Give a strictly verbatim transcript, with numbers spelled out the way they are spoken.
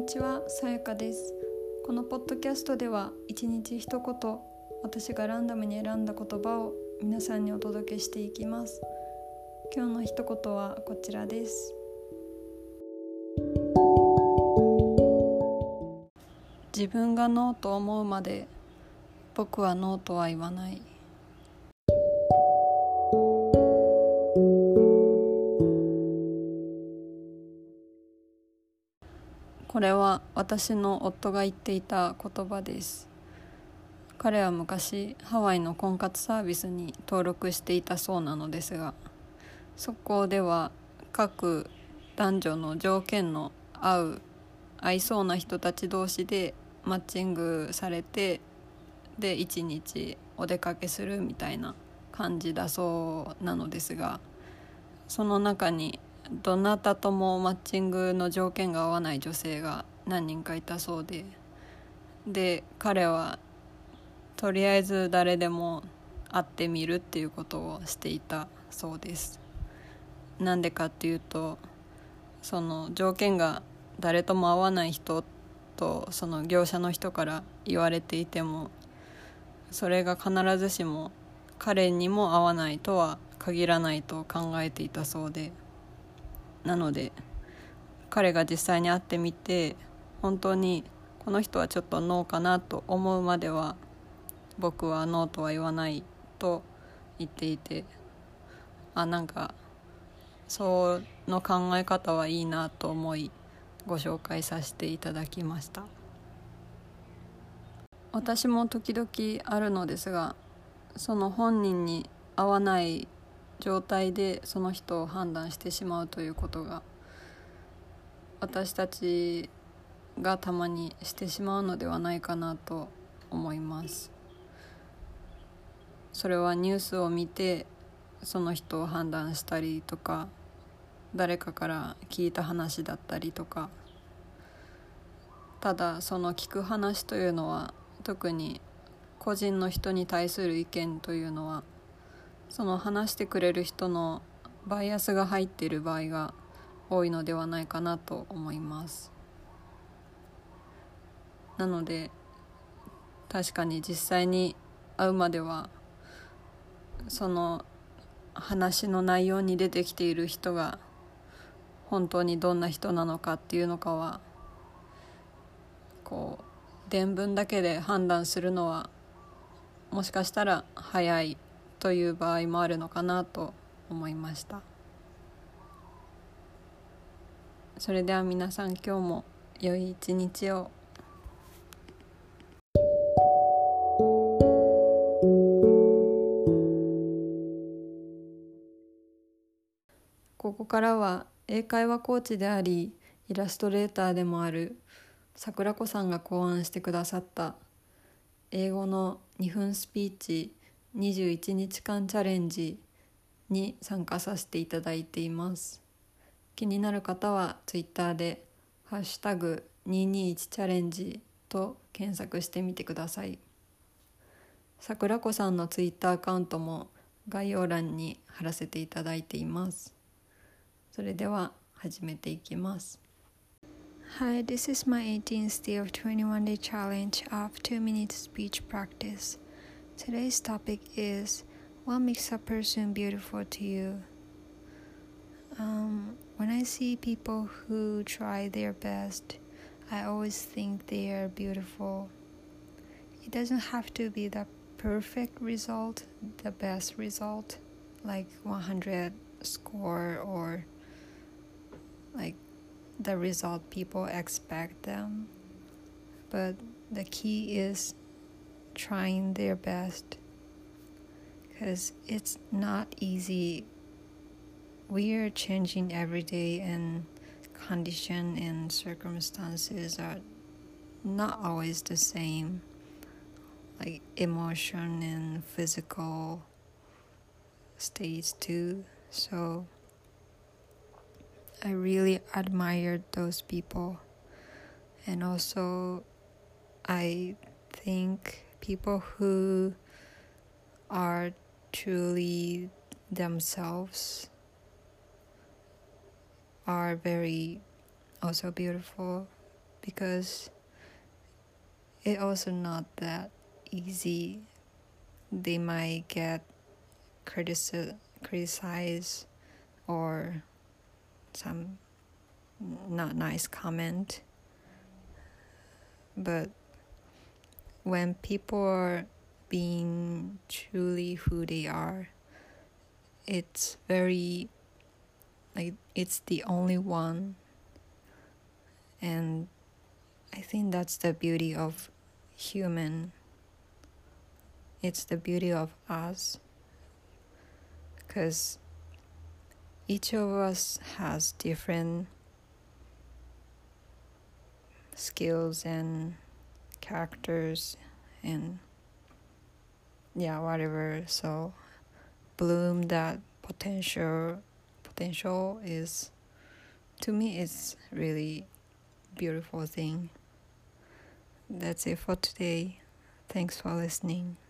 にちは、さやかです。このポッドキャストでは一日一言、私がランダムに選んだ言葉を皆さんにお届けしていきます。今日の一言はこちらです。自分がノーと思うまで僕はノーとは言わない。これは私の夫が言っていた言葉です。彼は昔ハワイの婚活サービスに登録していたそうなのですが、そこでは各男女の条件の合う合いそうな人たち同士でマッチングされて、で一日お出かけするみたいな感じだそうなのですが、その中にどなたともマッチングの条件が合わない女性が何人かいたそうで、で彼はとりあえず誰でも会ってみるっていうことをしていたそうです。なんでかっていうと、その条件が誰とも合わない人とその業者の人から言われていても、それが必ずしも彼にも合わないとは限らないと考えていたそうで、なので彼が実際に会ってみて、本当にこの人はちょっとノーかなと思うまでは僕はノーとは言わないと言っていて、あなんかその考え方はいいなと思いご紹介させていただきました。私も時々あるのですが、その本人に合わない状態でその人を判断してしまうということが私たちがたまにしてしまうのではないかなと思います。それはニュースを見てその人を判断したりとか、誰かから聞いた話だったりとか、ただその聞く話というのは、特に個人の人に対する意見というのは、その話してくれる人のバイアスが入っている場合が多いのではないかなと思います。なので確かに実際に会うまでは、その話の内容に出てきている人が本当にどんな人なのかっていうのかは、こう伝聞だけで判断するのはもしかしたら早いという場合もあるのかなと思いました。それでは皆さん、今日も良い一日を。ここからは英会話コーチでありイラストレーターでもある桜子さんが考案してくださった英語のにふんスピーチにじゅういちにちかんチャレンジに参加させていただいています。気になる方はツイッターでハッシュタグにひゃくにじゅういちチャレンジと検索してみてください。桜子さんのツイッターアカウントも概要欄に貼らせていただいています。それでは始めていきます。 Hi, this is my eighteenth day of twenty-one day challenge of two minute speech practice. Today's topic is what makes a person beautiful to you? Um, when I see people who try their best, I always think they are beautiful. It doesn't have to be the perfect result, the best result, like one hundred score or like the result people expect them. But the key is trying their best, because it's not easy. We are changing every day, and condition and circumstances are not always the same, like emotion and physical states too. So I really admired those people. And also I think people who are truly themselves are very also beautiful, because it also not that easy. They might get critici- criticized or some not nice comment. But when people are being truly who they are, it's very like it's the only one. And I think that's the beauty of human. It's the beauty of us, because each of us has different skills and characters and yeah, whatever. So bloom that potential potential is, to me, it's really beautiful thing. That's it for today. Thanks for listening.